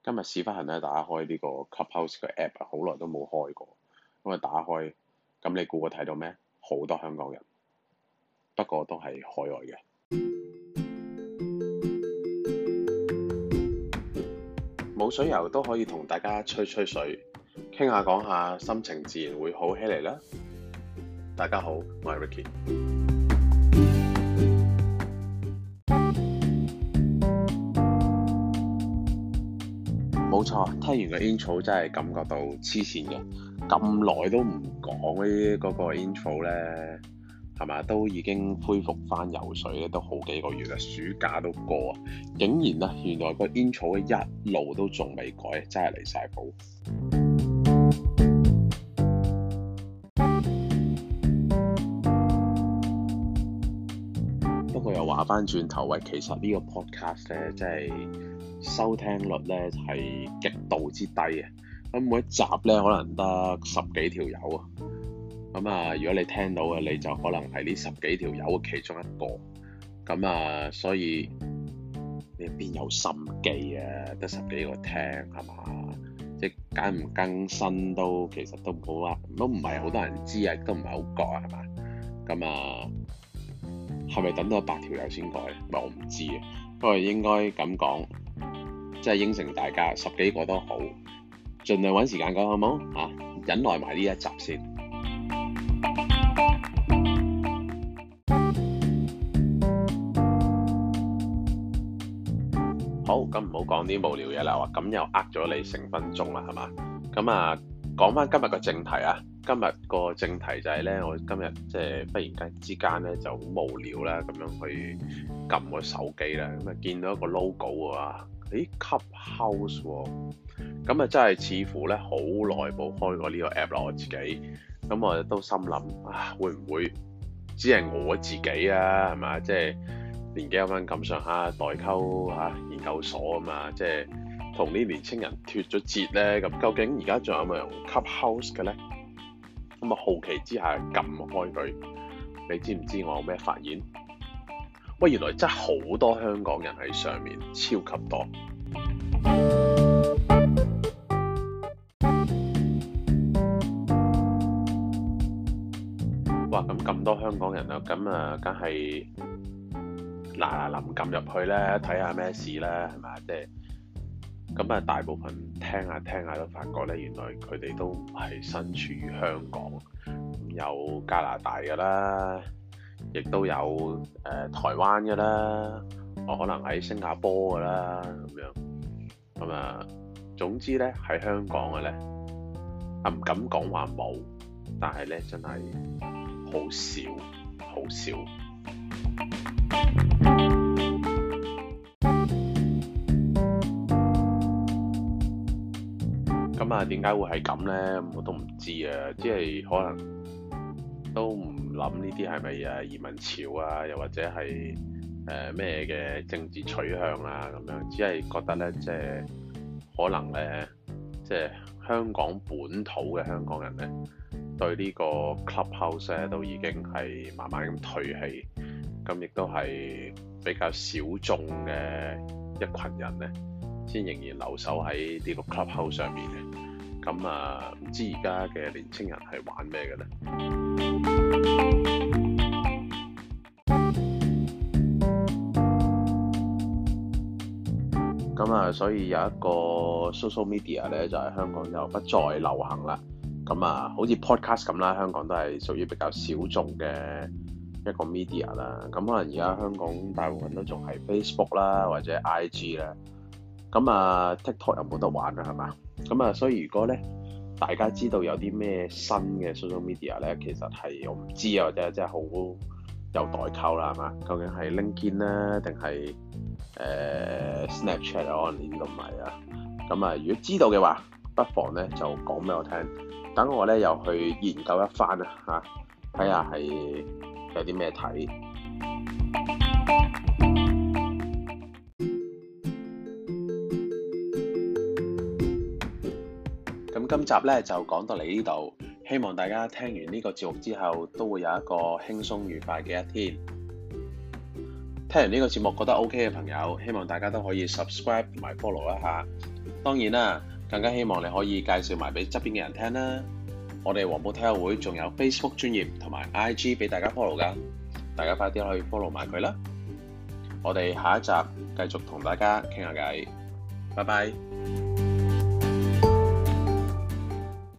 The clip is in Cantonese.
今日屎忽痕咧打開呢個 Clubhouse 嘅 app 啊，好耐都冇開過。咁啊打開，咁你估我睇到咩？好多香港人，不過都係海外嘅。冇水游都可以同大家吹吹水，傾下講下，心情自然會好起嚟啦。大家好，我係 Ricky。冇錯，聽完個 intro 真係感覺到黐線嘅，咁耐都唔講呢嗰個 intro 咧，係咪都已經恢復翻游水咧，都好幾個月啦，暑假都過啊，竟然啊，原來個 intro 一路都仲未改，真係離晒譜。不過又話翻轉頭，喂，其實呢個 podcast 咧，真係〜收聽率咧係極度之低嘅，咁每一集咧可能得10幾條友啊，咁啊如果你聽到嘅你就可能係呢10幾條友嘅其中一個，咁啊所以你邊有心機啊？得10幾個聽係嘛？即係更唔更新都其實都冇啊，都唔係好多人知啊，都唔係好覺啊，係嘛？咁啊係咪等到100條友先改？我唔知啊，不過應該咁講。即係應承大家10幾個都好，盡量揾時間講好冇嚇，忍耐埋呢一集先。好，咁唔好講啲無聊嘢啦，咁又呃咗你成分鐘啦，係嘛？咁啊，講翻今日個正題啊。今日個正題就係咧，我今日即係忽然間之間咧就好無聊啦，咁樣去撳個手機啦，咁啊見到一個 logo 啊。Clubhouse 喎，咁啊真係似乎咧好耐冇開過呢個 app 啦，我自己，咁我都心諗啊，會唔會只係我自己啊？係嘛，即係年紀有翻咁上下，代溝研究所啊嘛，即係同啲年青人脫咗節咧。咁究竟而家仲有冇用 Clubhouse 嘅咧？咁啊好奇之下撳開佢，你知唔知我有咩發現？喂，原來真係好多香港人喺上面，超級多。哇！咁多香港人啊，咁啊，梗係嗱臨撳入去咧，睇下咩事啦，係咪？即係咁啊，大部分聽下都發覺咧，原來佢哋都唔係身處於香港，有加拿大㗎啦。亦都有台灣嘅啦，我可能喺新加坡嘅啦，咁樣咁啊。總之咧喺香港嘅咧，唔敢講話冇，但係咧真係好少，好少。咁啊，點解會係咁咧？我都唔知啊，即係可能都唔諗呢啲係咪移民潮啊，又或者係咩嘅政治取向啊咁樣，只係覺得咧，即係可能咧，即係香港本土嘅香港人咧，對呢個 Clubhouse 咧都已經係慢慢咁退氣，咁亦都係比較小眾嘅一群人咧，先仍然留守喺呢個 Clubhouse 上面嘅。咁啊，唔知而家嘅年青人係玩咩嘅咧？咁啊，所以有一個 social media 咧，就係香港就不再流行啦。咁啊，好似 podcast 咁啦，香港都係屬於比較小眾嘅一個 media 啦。咁可能而家香港大部分都仲係 Facebook 啦，或者 IG 啦。咁啊 TikTok 有冇得玩啊？係嘛？咁啊，所以如果咧大家知道有啲咩新嘅 social media 咧，其實係我唔知啊，或者真係好有代溝啦，係嘛？究竟係 LinkedIn 啦，定係Snapchat 啊？我連都唔係啊。咁啊，如果知道嘅話，不妨咧就講俾我聽，等我咧又去研究一番啊嚇，睇下係有啲咩睇。咁今集咧就講到嚟呢度，希望大家聽完呢個節目之後都會有一個輕鬆愉快嘅一天。 聽完呢個節目覺得 OK 嘅朋友，希望大家都可以 subscribe 同埋 follow 一下。當然啦，更加希望你可以介紹埋俾側邊嘅人聽啦。我哋黃埔體育會仲有 Facebook 專頁同埋 IG 俾大家 follow 㗎，大家快啲去 follow 埋佢啦。我哋下一集繼續同大家傾下偈，拜拜。